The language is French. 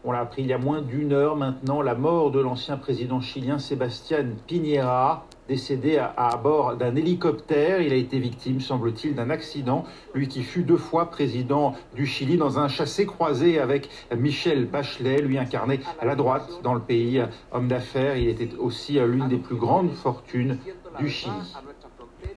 On l'a appris il y a moins d'une heure maintenant, la mort de l'ancien président chilien Sebastián Piñera, décédé à bord d'un hélicoptère. Il a été victime, semble-t-il, d'un accident. Lui qui fut 2 fois président du Chili dans un chassé-croisé avec Michelle Bachelet, lui incarné à la droite dans le pays. Homme d'affaires, il était aussi l'une des plus grandes fortunes du Chili.